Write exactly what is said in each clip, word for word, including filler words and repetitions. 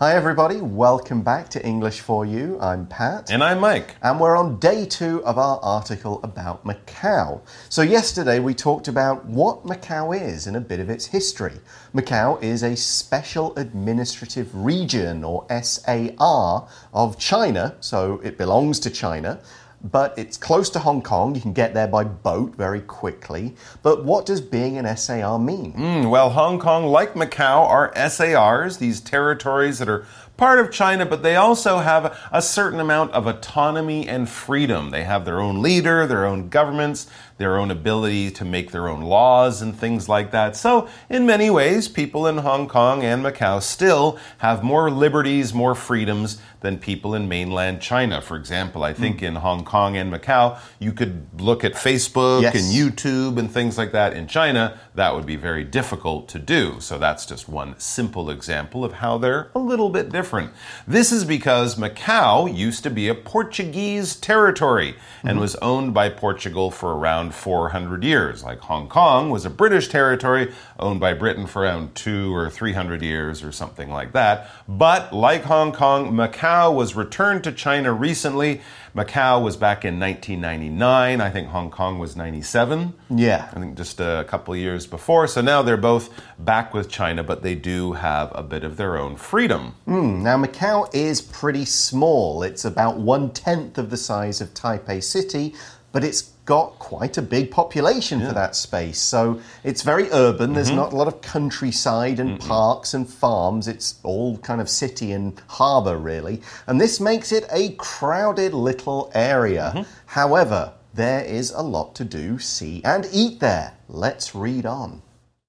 Hi everybody, welcome back to English for You. I'm Pat. And I'm Mike. And we're on day two of our article about Macau. So yesterday we talked about what Macau is and a bit of its history. Macau is a special administrative region, or S A R, of China, so it belongs to China. But it's close to Hong Kong. You can get there by boat very quickly. But what does being an S A R mean? Mm, well, Hong Kong, like Macau, are S A Rs, these territories that are part of China, but they also have a certain amount of autonomy and freedom. They have their own leader, their own governments, their own ability to make their own laws and things like that. So, in many ways, people in Hong Kong and Macau still have more liberties, more freedoms than people in mainland China. For example, I think mm. in Hong Kong and Macau, you could look at Facebook yes. and YouTube and things like that. In China, that would be very difficult to do. So that's just one simple example of how they're a little bit different. This is because Macau used to be a Portuguese territory and mm-hmm. was owned by Portugal for around four hundred years. Like Hong Kong was a British territory owned by Britain for around two or three hundred years or something like that. But like Hong Kong, Macau was returned to China recently. Macau was back in nineteen ninety-nine. I think Hong Kong was ninety-seven. Yeah. I think just a couple of years before. So now they're both back with China, but they do have a bit of their own freedom. Mm, now, Macau is pretty small. It's about one-tenth of the size of Taipei City, but it's got quite a big population yeah. for that space. So it's very urban. Mm-hmm. There's not a lot of countryside and Mm-mm. parks and farms. It's all kind of city and harbour, really. And this makes it a crowded little area. Mm-hmm. However, there is a lot to do, see and eat there. Let's read on.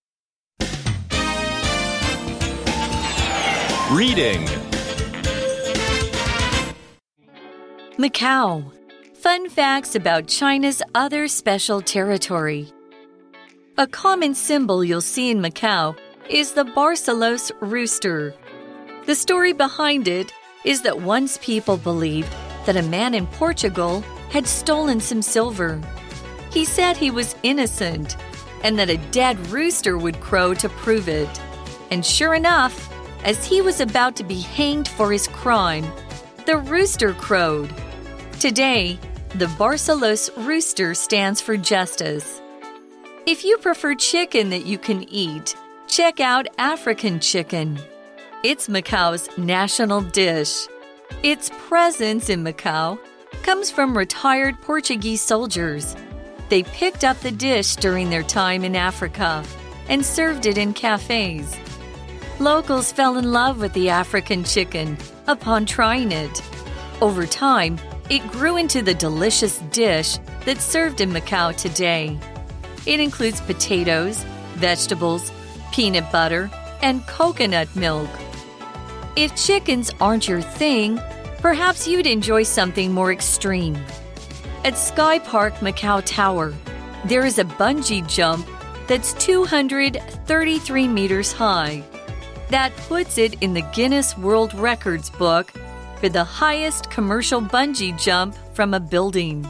Reading. Macau. Fun facts about China's other special territory. A common symbol you'll see in Macau is the Barcelos rooster. The story behind it is that once people believed that a man in Portugal had stolen some silver. He said he was innocent and that a dead rooster would crow to prove it. And sure enough, as he was about to be hanged for his crime, the rooster crowed. Today, the Barcelos rooster stands for justice. If you prefer chicken that you can eat, check out African chicken. It's Macau's national dish. Its presence in Macau comes from retired Portuguese soldiers. They picked up the dish during their time in Africa and served it in cafes. Locals fell in love with the African chicken upon trying it. Over time, it grew into the delicious dish that's served in Macau today. It includes potatoes, vegetables, peanut butter, and coconut milk. If chickens aren't your thing, perhaps you'd enjoy something more extreme. At Sky Park Macau Tower, there is a bungee jump that's two hundred thirty-three meters high. That puts it in the Guinness World Records book for the highest commercial bungee jump from a building.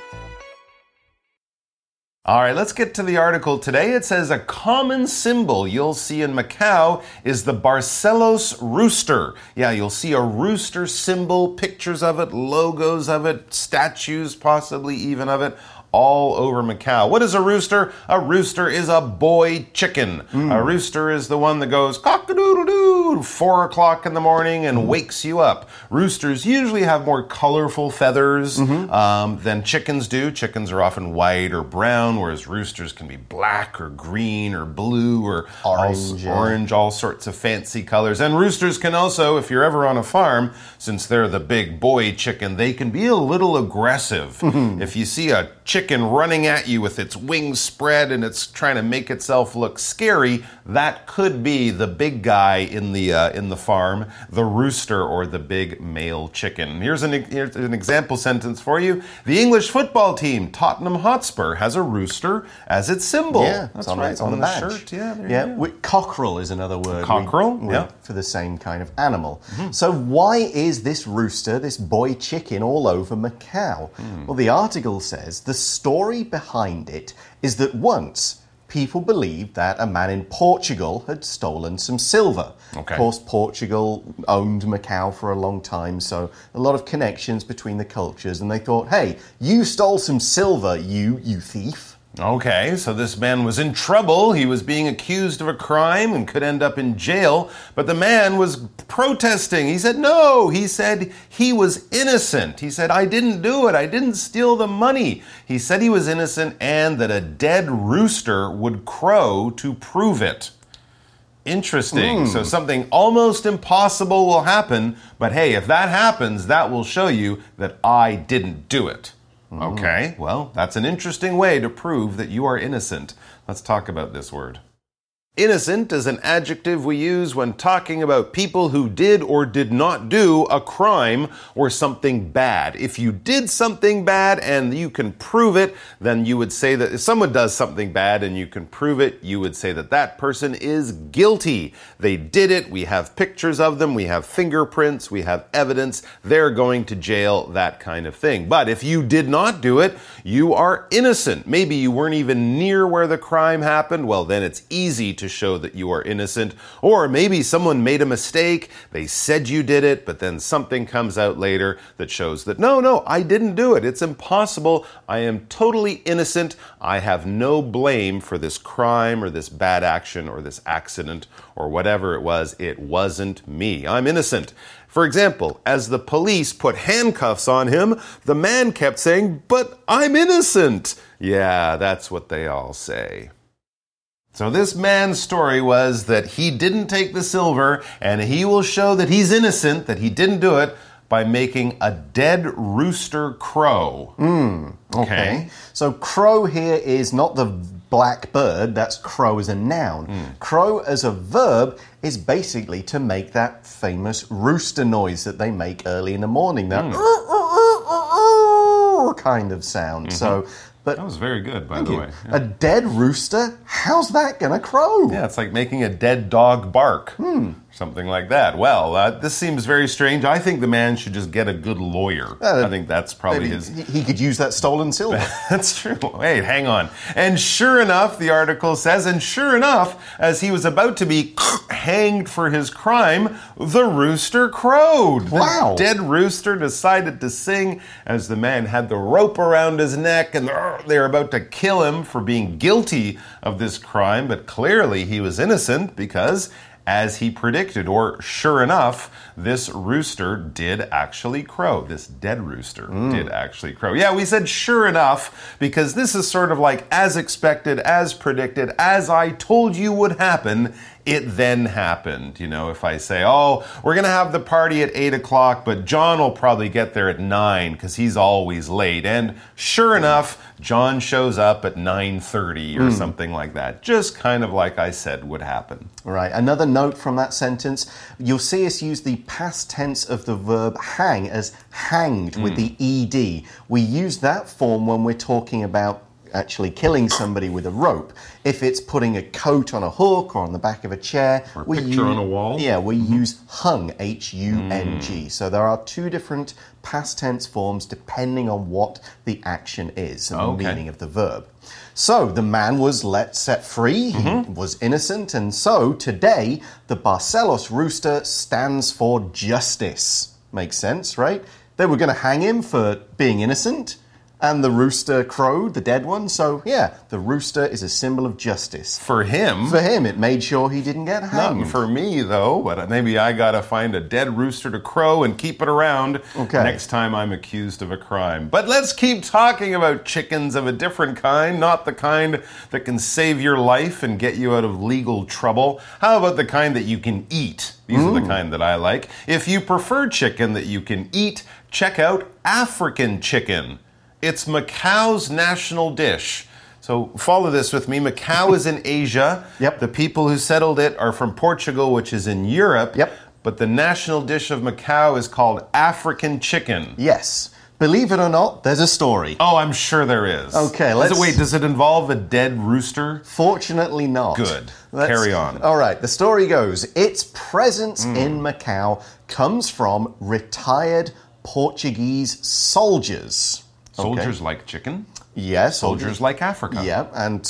All right, let's get to the article today. It says a common symbol you'll see in Macau is the Barcelos rooster. Yeah, you'll see a rooster symbol, pictures of it, logos of it, statues possibly even of it, all over Macau. What is a rooster? A rooster is a boy chicken. Mm. A rooster is the one that goes cock-a-doodle-doo four o'clock in the morning and mm. wakes you up. Roosters usually have more colorful feathers mm-hmm. um, than chickens do. Chickens are often white or brown, whereas roosters can be black or green or blue or orange, all, yeah. orange, all sorts of fancy colors. And roosters can also, if you're ever on a farm, since they're the big boy chicken, they can be a little aggressive. Mm-hmm. If you see a chicken running at you with its wings spread and it's trying to make itself look scary, that could be the big guy in the uh, in the farm, the rooster or the big male chicken. Here's an, here's an example sentence for you. The English football team, Tottenham Hotspur, has a rooster as its symbol. Yeah, that's on, right. It's on, on the, the badge. shirt. Yeah, there yeah. you go. Cockerel is another word. Cockerel, we, we, yeah. For the same kind of animal. Mm-hmm. So why is this rooster, this boy chicken, all over Macau? Mm. Well, the article says the story behind it is that once people believed that a man in Portugal had stolen some silver. Okay. Of course, Portugal owned Macau for a long time, so a lot of connections between the cultures, and they thought, hey, you stole some silver, you, you thief. Okay, so this man was in trouble. He was being accused of a crime and could end up in jail. But the man was protesting. He said, no. He said he was innocent. He said, I didn't do it. I didn't steal the money. He said he was innocent and that a dead rooster would crow to prove it. Interesting. Mm. So something almost impossible will happen. But hey, if that happens, that will show you that I didn't do it. Okay, well, that's an interesting way to prove that you are innocent. Let's talk about this word. Innocent is an adjective we use when talking about people who did or did not do a crime or something bad. If you did something bad and you can prove it, then you would say that if someone does something bad and you can prove it, you would say that that person is guilty. They did it. We have pictures of them. We have fingerprints. We have evidence. They're going to jail, that kind of thing. But if you did not do it, you are innocent. Maybe you weren't even near where the crime happened. Well, then it's easy to show that you are innocent. Or maybe someone made a mistake, they said you did it, but then something comes out later that shows that no, no, I didn't do it. It's impossible. I am totally innocent. I have no blame for this crime or this bad action or this accident or whatever it was. It wasn't me. I'm innocent. For example, as the police put handcuffs on him, the man kept saying, but I'm innocent. Yeah, that's what they all say. So this man's story was that he didn't take the silver, and he will show that he's innocent, that he didn't do it, by making a dead rooster crow. Mm, okay. okay. So crow here is not the black bird, that's crow as a noun. Mm. Crow as a verb is basically to make that famous rooster noise that they make early in the morning, that mm. kind of sound. Mm-hmm. So But that was very good, by the you. way. Yeah. A dead rooster? How's that going to crow? Yeah, it's like making a dead dog bark. Hmm. Something like that. Well, uh, this seems very strange. I think the man should just get a good lawyer. Uh, I think that's probably his... He could use that stolen silver. That's true. Wait, hang on. And sure enough, the article says, and sure enough, as he was about to be hanged for his crime, the rooster crowed. Wow. The dead rooster decided to sing as the man had the rope around his neck and they were about to kill him for being guilty of this crime, but clearly he was innocent because, as he predicted, or sure enough, this rooster did actually crow. This dead rooster mm. did actually crow. Yeah, we said sure enough because this is sort of like as expected, as predicted, as I told you would happen. It then happened. You know, if I say, oh, we're going to have the party at eight o'clock, but John will probably get there at nine because he's always late. And sure enough, John shows up at nine thirty or mm. something like that. Just kind of like I said would happen. Right. Another note from that sentence, you'll see us use the past tense of the verb hang as hanged mm. with the ed. We use that form when we're talking about actually killing somebody with a rope. If it's putting a coat on a hook or on the back of a chair. Or a we picture use, on a wall. Yeah, we mm-hmm. use hung, H U N G. Mm. So there are two different past tense forms depending on what the action is and okay. the meaning of the verb. So the man was let set free, mm-hmm. he was innocent, and so today the Barcelos rooster stands for justice. Makes sense, right? They were going to hang him for being innocent. And the rooster crowed, the dead one. So, yeah, the rooster is a symbol of justice. For him? For him. It made sure he didn't get hanged. Not for me, though. But maybe I got to find a dead rooster to crow and keep it around okay. next time I'm accused of a crime. But let's keep talking about chickens of a different kind, not the kind that can save your life and get you out of legal trouble. How about the kind that you can eat? These mm. are the kind that I like. If you prefer chicken that you can eat, check out African chicken. It's Macau's national dish. So follow this with me. Macau is in Asia. Yep. The people who settled it are from Portugal, which is in Europe. Yep. But the national dish of Macau is called African chicken. Yes. Believe it or not, there's a story. Oh, I'm sure there is. Okay, let's... Does it, wait, does it involve a dead rooster? Fortunately not. Good. Let's... Carry on. All right, the story goes, its presence mm. in Macau comes from retired Portuguese soldiers. Soldiers okay. like chicken? Yes. Yeah, soldiers, soldiers like Africa. Yeah, and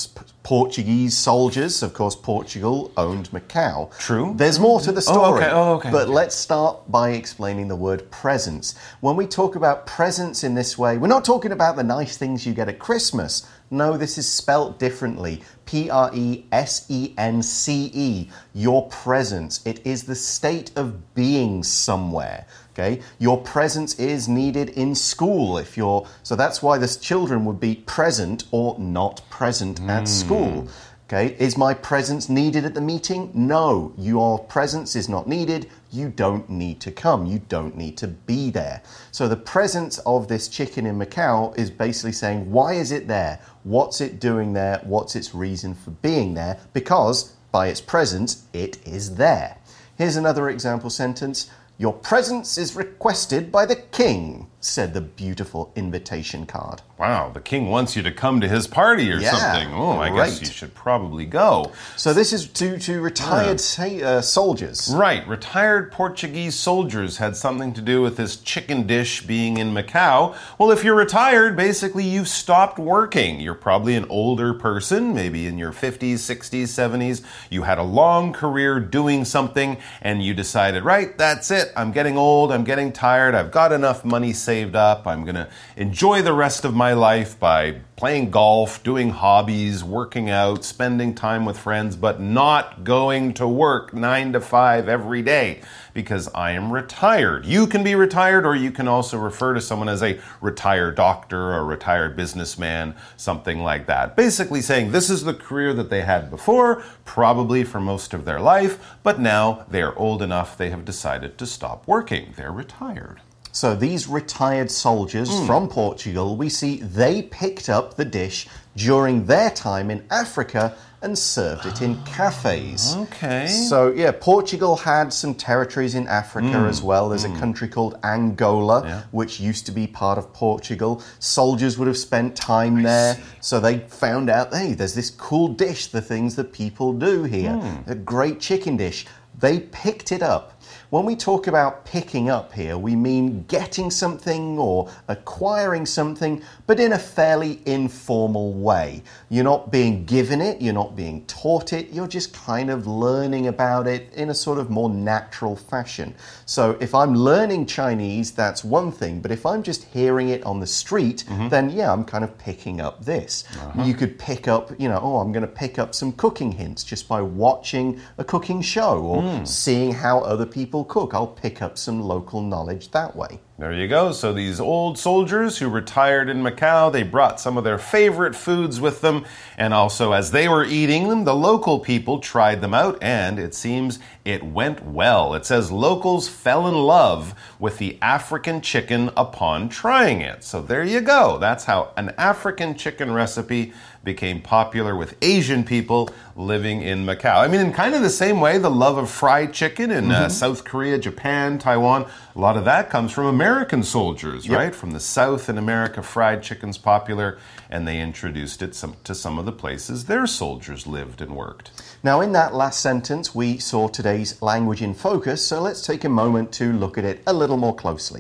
Portuguese soldiers. Of course, Portugal owned Macau. True. There's more to the story. Oh, okay. Oh, okay. But let's start by explaining the word presents. When we talk about presents in this way, we're not talking about the nice things you get at Christmas. No, this is spelt differently. P R E S E N C E. Your presence. It is the state of being somewhere. Okay? Your presence is needed in school if you're... So that's why the children would be present or not present mm. at school. Okay? Is my presence needed at the meeting? No. Your presence is not needed. You don't need to come. You don't need to be there. So the presence of this chicken in Macau is basically saying, why is it there? What's it doing there? What's its reason for being there? Because by its presence, it is there. Here's another example sentence. Your presence is requested by the king, said the beautiful invitation card. Wow, the king wants you to come to his party or yeah, something. Oh, I right. guess you should probably go. So this is to, to retired yeah. uh, soldiers. Right, retired Portuguese soldiers had something to do with this chicken dish being in Macau. Well, if you're retired, basically you've stopped working. You're probably an older person, maybe in your fifties, sixties, seventies. You had a long career doing something and you decided, right, that's it. I'm getting old, I'm getting tired, I've got enough money saved up, I'm going to enjoy the rest of my life by playing golf, doing hobbies, working out, spending time with friends, but not going to work nine to five every day because I am retired. You can be retired, or you can also refer to someone as a retired doctor or retired businessman, something like that. Basically saying this is the career that they had before, probably for most of their life, but now they are old enough they have decided to stop working. They're retired. So these retired soldiers mm. from Portugal, we see they picked up the dish during their time in Africa and served it in cafes. Okay. So, yeah, Portugal had some territories in Africa mm. as well. There's mm. a country called Angola, yeah. which used to be part of Portugal. Soldiers would have spent time I there. See. So they found out, hey, there's this cool dish, the things that people do here. Mm. A great chicken dish. They picked it up. When we talk about picking up here, we mean getting something or acquiring something, but in a fairly informal way. You're not being given it, you're not being taught it, you're just kind of learning about it in a sort of more natural fashion. So if I'm learning Chinese, that's one thing, but if I'm just hearing it on the street, mm-hmm. then yeah, I'm kind of picking up this. Uh-huh. You could pick up, you know, oh, I'm going to pick up some cooking hints just by watching a cooking show or mm. seeing how other people cook. I'll pick up some local knowledge that way. There you go. So these old soldiers who retired in Macau, they brought some of their favorite foods with them. And also, as they were eating them, the local people tried them out, and it seems it went well. It says locals fell in love with the African chicken upon trying it. So there you go. That's how an African chicken recipe became popular with Asian people living in Macau. I mean, in kind of the same way, the love of fried chicken in mm-hmm. uh, South Korea, Japan, Taiwan, a lot of that comes from American soldiers, yep. right? From the South in America, fried chicken's popular, and they introduced it some, to some of the places their soldiers lived and worked. Now, in that last sentence, we saw today's language in focus, so let's take a moment to look at it a little more closely.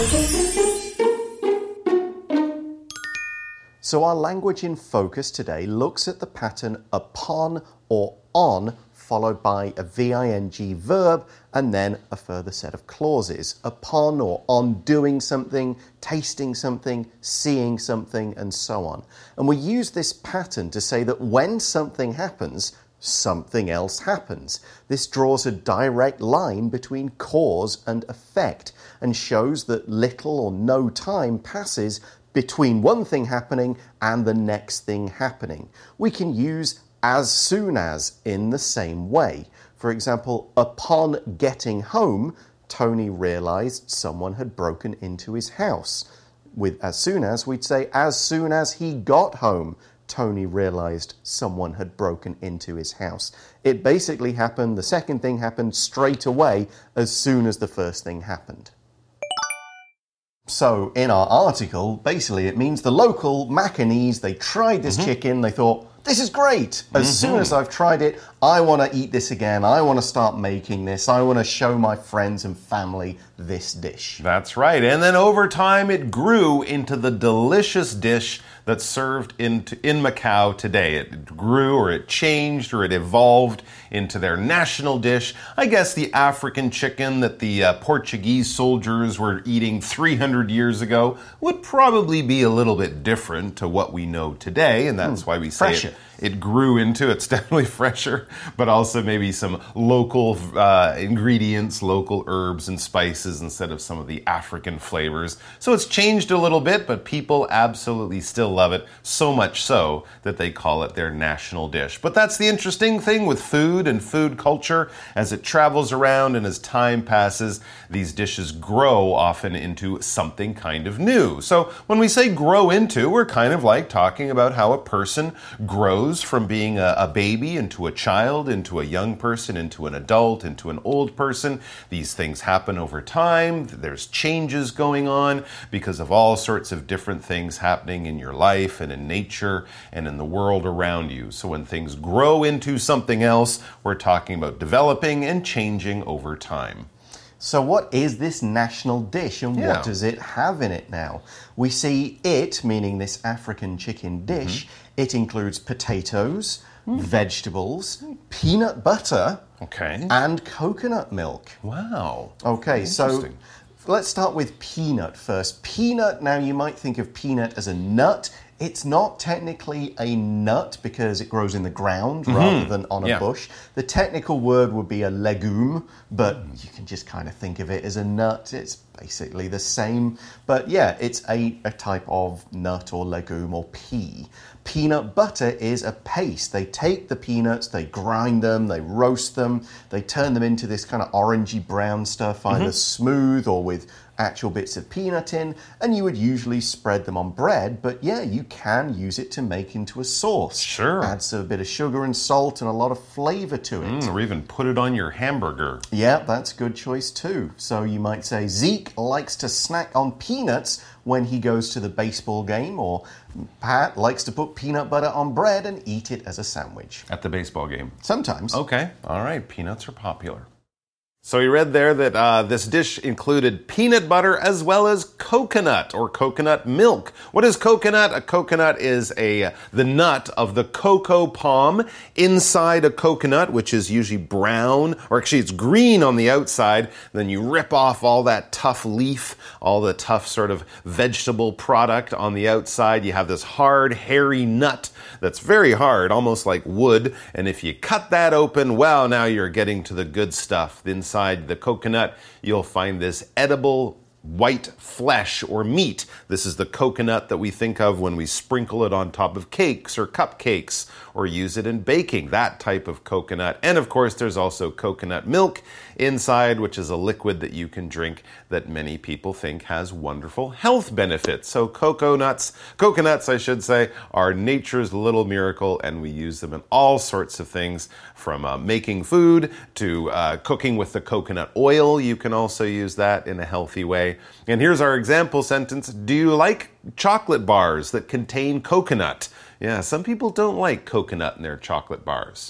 So our language in focus today looks at the pattern upon or on, followed by a V I N G verb, and then a further set of clauses. Upon or on doing something, tasting something, seeing something, and so on. And we use this pattern to say that when something happens, something else happens. This draws a direct line between cause and effect, and shows that little or no time passes between one thing happening and the next thing happening. We can use as soon as in the same way. For example, upon getting home, Tony realized someone had broken into his house. With as soon as, we'd say as soon as he got home, Tony realized someone had broken into his house. It basically happened, the second thing happened straight away as soon as the first thing happened. So, in our article, basically it means the local Macanese, they tried this mm-hmm. chicken, they thought, this is great. As mm-hmm. soon as I've tried it, I want to eat this again. I want to start making this. I want to show my friends and family this dish. That's right. And then over time, it grew into the delicious dish that's served in, in Macau today. It grew or it changed or it evolved into their national dish. I guess the African chicken that the uh, Portuguese soldiers were eating three hundred years ago would probably be a little bit different to what we know today, and that's mm, why we say fresher. it. It grew into, it's definitely fresher, but also maybe some local uh, ingredients, local herbs and spices instead of some of the African flavors. So it's changed a little bit, but people absolutely still love it, so much so that they call it their national dish. But that's the interesting thing with food and food culture. As it travels around and as time passes, these dishes grow often into something kind of new. So when we say grow into, we're kind of like talking about how a person grows from being a, a baby into a child, into a young person, into an adult, into an old person. These things happen over time. There's changes going on because of all sorts of different things happening in your life and in nature and in the world around you. So when things grow into something else, we're talking about developing and changing over time. So what is this national dish and Yeah. what does it have in it now? We see it, meaning this African chicken dish, mm-hmm. it includes potatoes, mm. vegetables, peanut butter, okay. and coconut milk. Wow. Okay, so let's start with peanut first. Peanut, now you might think of peanut as a nut. It's not technically a nut because it grows in the ground mm-hmm. rather than on a yeah. bush. The technical word would be a legume, but you can just kind of think of it as a nut. It's basically the same. But yeah, it's a, a type of nut or legume or pea. Peanut butter is a paste. They take the peanuts, they grind them, they roast them, they turn them into this kind of orangey brown stuff, either mm-hmm. smooth or with actual bits of peanut in, and you would usually spread them on bread, but yeah, you can use it to make into a sauce. Sure. Adds a bit of sugar and salt and a lot of flavor to it. Mm, or even put it on your hamburger. Yeah, that's a good choice too. So you might say Zeke likes to snack on peanuts when he goes to the baseball game, or Pat likes to put peanut butter on bread and eat it as a sandwich. At the baseball game? Sometimes. Okay, all right, peanuts are popular. So we read there that uh, this dish included peanut butter as well as coconut or coconut milk. What is coconut? A coconut is a the nut of the cocoa palm. Inside a coconut, which is usually brown, or actually it's green on the outside, then you rip off all that tough leaf, all the tough sort of vegetable product on the outside. You have this hard, hairy nut that's very hard, almost like wood. And if you cut that open, well, now you're getting to the good stuff. The inside Inside the coconut, you'll find this edible white flesh or meat. This is the coconut that we think of when we sprinkle it on top of cakes or cupcakes or use it in baking, that type of coconut. And of course, there's also coconut milk inside, which is a liquid that you can drink that many people think has wonderful health benefits. So coconuts, coconuts, I should say, are nature's little miracle, and we use them in all sorts of things, from uh, making food to uh, cooking with the coconut oil. You can also use that in a healthy way. And here's our example sentence. Do you like chocolate bars that contain coconut? Yeah, some people don't like coconut in their chocolate bars.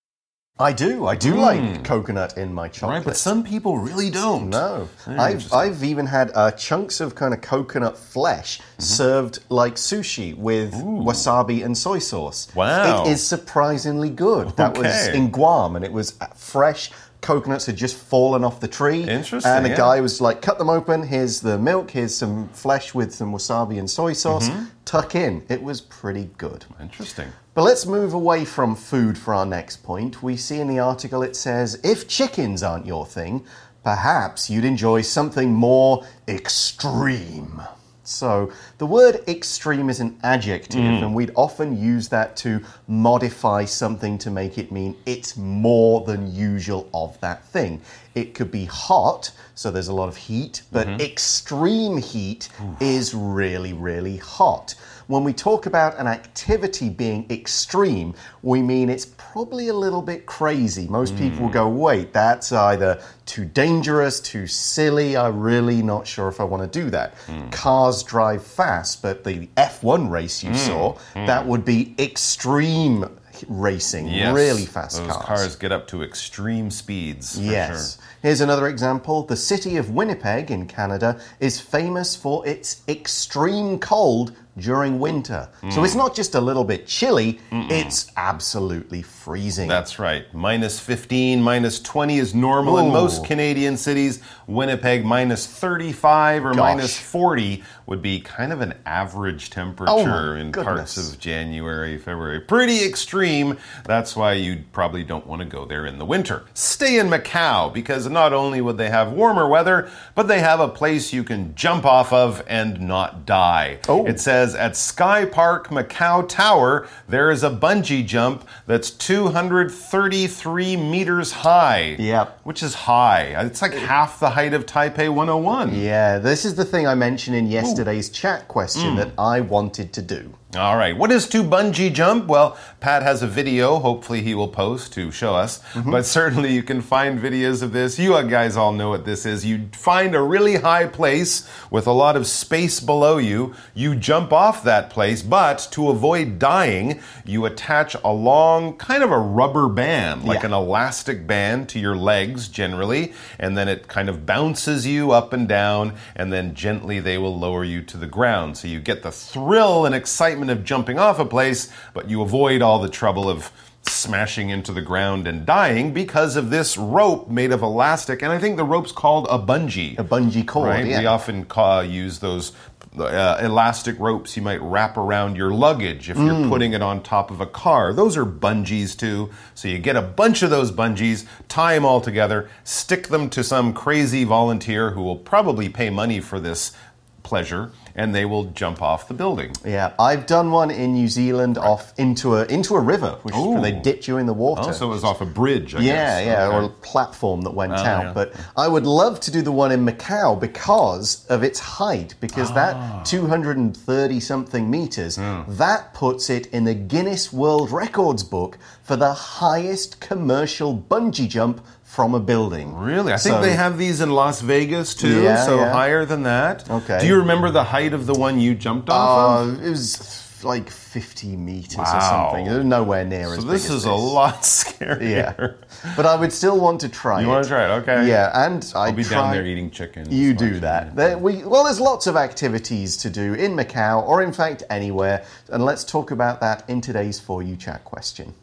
I do. I do mm. like coconut in my chocolate. Right, but some people really don't. No. I've, I've even had uh, chunks of kind of coconut flesh mm-hmm. served like sushi with Ooh. wasabi and soy sauce. Wow. It is surprisingly good. Okay. That was in Guam, and it was fresh. Coconuts had just fallen off the tree. Interesting. And the yeah. guy was like, cut them open. Here's the milk. Here's some flesh with some wasabi and soy sauce. Mm-hmm. Tuck in. It was pretty good. Interesting. But let's move away from food for our next point. We see in the article it says, if chickens aren't your thing, perhaps you'd enjoy something more extreme. So the word extreme is an adjective, mm. and we'd often use that to modify something to make it mean it's more than usual of that thing. It could be hot, so there's a lot of heat, but mm-hmm. extreme heat Oof. is really, really hot. When we talk about an activity being extreme, we mean it's probably a little bit crazy. Most mm. people will go, wait, that's either too dangerous, too silly, I'm really not sure if I want to do that. Mm. Cars drive fast, but the F one race you mm. saw, mm. that would be extreme racing, yes, really fast those cars. cars get up to extreme speeds. For yes. Sure. Here's another example. The city of Winnipeg in Canada is famous for its extreme cold during winter. Mm. So it's not just a little bit chilly, Mm-mm. it's absolutely freezing. That's right. minus fifteen, minus twenty is normal Ooh. in most Canadian cities. Winnipeg, minus thirty-five or Gosh. minus forty would be kind of an average temperature oh, in goodness. parts of January, February. Pretty extreme. That's why you probably don't want to go there in the winter. Stay in Macau, because not only would they have warmer weather, but they have a place you can jump off of and not die. Oh. It says at Sky Park Macau Tower, there is a bungee jump that's two hundred thirty-three meters high. Yep. Which is high. It's like half the height of Taipei one oh one. Yeah, this is the thing I mentioned in yesterday's Ooh. chat question mm. that I wanted to do. All right. What is to bungee jump? Well, Pat has a video, hopefully he will post to show us. Mm-hmm. But certainly you can find videos of this. You guys all know what this is. You find a really high place with a lot of space below you. You jump off that place, but to avoid dying, you attach a long, kind of a rubber band, like yeah. an elastic band to your legs generally, and then it kind of bounces you up and down, and then gently they will lower you to the ground. So you get the thrill and excitement of jumping off a place, but you avoid all the trouble of smashing into the ground and dying because of this rope made of elastic. And I think the rope's called a bungee. A bungee cord, right? yeah. We often call, use those uh, elastic ropes you might wrap around your luggage if you're mm. putting it on top of a car. Those are bungees too. So you get a bunch of those bungees, tie them all together, stick them to some crazy volunteer who will probably pay money for this pleasure, and they will jump off the building. Yeah, I've done one in New Zealand right. off into a into a river, which Ooh. is where they dipped you in the water. Oh, so it was off a bridge, I yeah, guess. Yeah, okay. or a platform that went oh, out. Yeah. But I would love to do the one in Macau because of its height, because ah. that two hundred thirty something meters, mm. that puts it in the Guinness World Records book for the highest commercial bungee jump from a building. Really? I think so, they have these in Las Vegas too, yeah, so yeah. higher than that. Okay. Do you remember the height of the one you jumped off uh, of? It was like fifty meters wow. or something. It was nowhere near so as big this as is this. a lot scarier. Yeah. But I would still want to try you it. You want to try it? Okay. Yeah, and I I'll be try... down there eating chicken. You do that. There, we, well, there's lots of activities to do in Macau, or in fact anywhere, and let's talk about that in today's For You Chat question.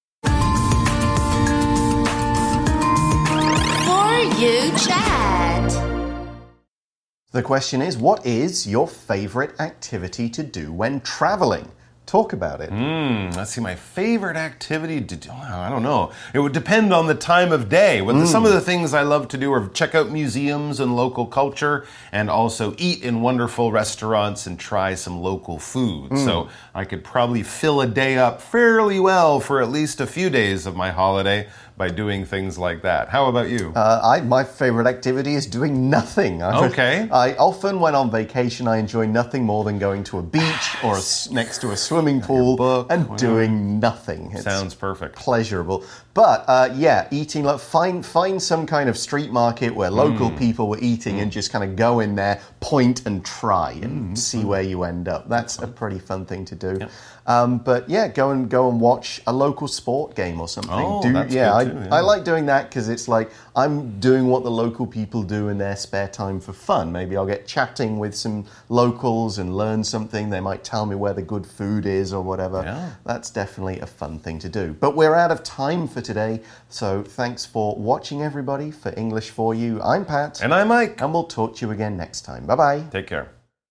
You chat. The question is, what is your favorite activity to do when traveling? Talk about it. Mm, let's see, my favorite activity to do, I don't know. It would depend on the time of day. But mm. some of the things I love to do are check out museums and local culture, and also eat in wonderful restaurants and try some local food. Mm. So I could probably fill a day up fairly well for at least a few days of my holiday by doing things like that. How about you? Uh, I, my favorite activity is doing nothing. I, okay. I often, when on vacation, I enjoy nothing more than going to a beach or a, next to a swimming pool book, and whatever. doing nothing. It's Sounds perfect. Pleasurable. But uh, yeah, eating, like, find, find some kind of street market where local mm. people were eating mm. and just kind of go in there, point and try and mm. see where you end up. That's a pretty fun thing to do. Yep. Um, but yeah, go and go and watch a local sport game or something. Oh, do, that's yeah, good too, I, yeah, I like doing that because it's like I'm doing what the local people do in their spare time for fun. Maybe I'll get chatting with some locals and learn something. They might tell me where the good food is or whatever. Yeah. That's definitely a fun thing to do. But we're out of time for today, so thanks for watching, everybody. For English For You, I'm Pat. And I'm Mike. And we'll talk to you again next time. Bye-bye. Take care.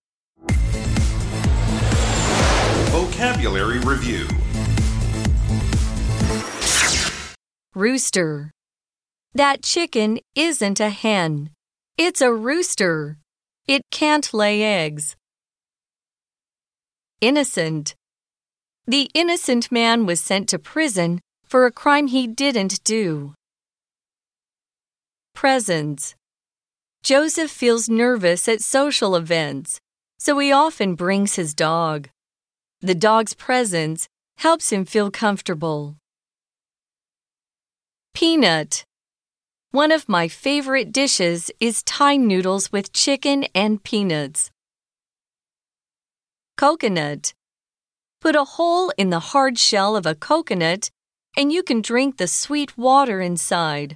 Vocabulary Review. Rooster. That chicken isn't a hen. It's a rooster. It can't lay eggs. Innocent. The innocent man was sent to prison for a crime he didn't do. Presents. Joseph feels nervous at social events, so he often brings his dog. The dog's presence helps him feel comfortable. Peanut. One of my favorite dishes is Thai noodles with chicken and peanuts. Coconut. Put a hole in the hard shell of a coconut, and you can drink the sweet water inside.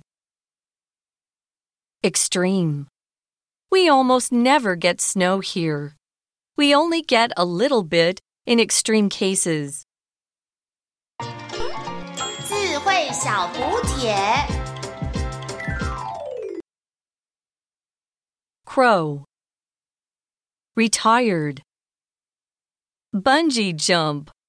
Extreme. We almost never get snow here. We only get a little bit in extreme cases. 智慧小补帖 Crow. Retired. Bungee jump.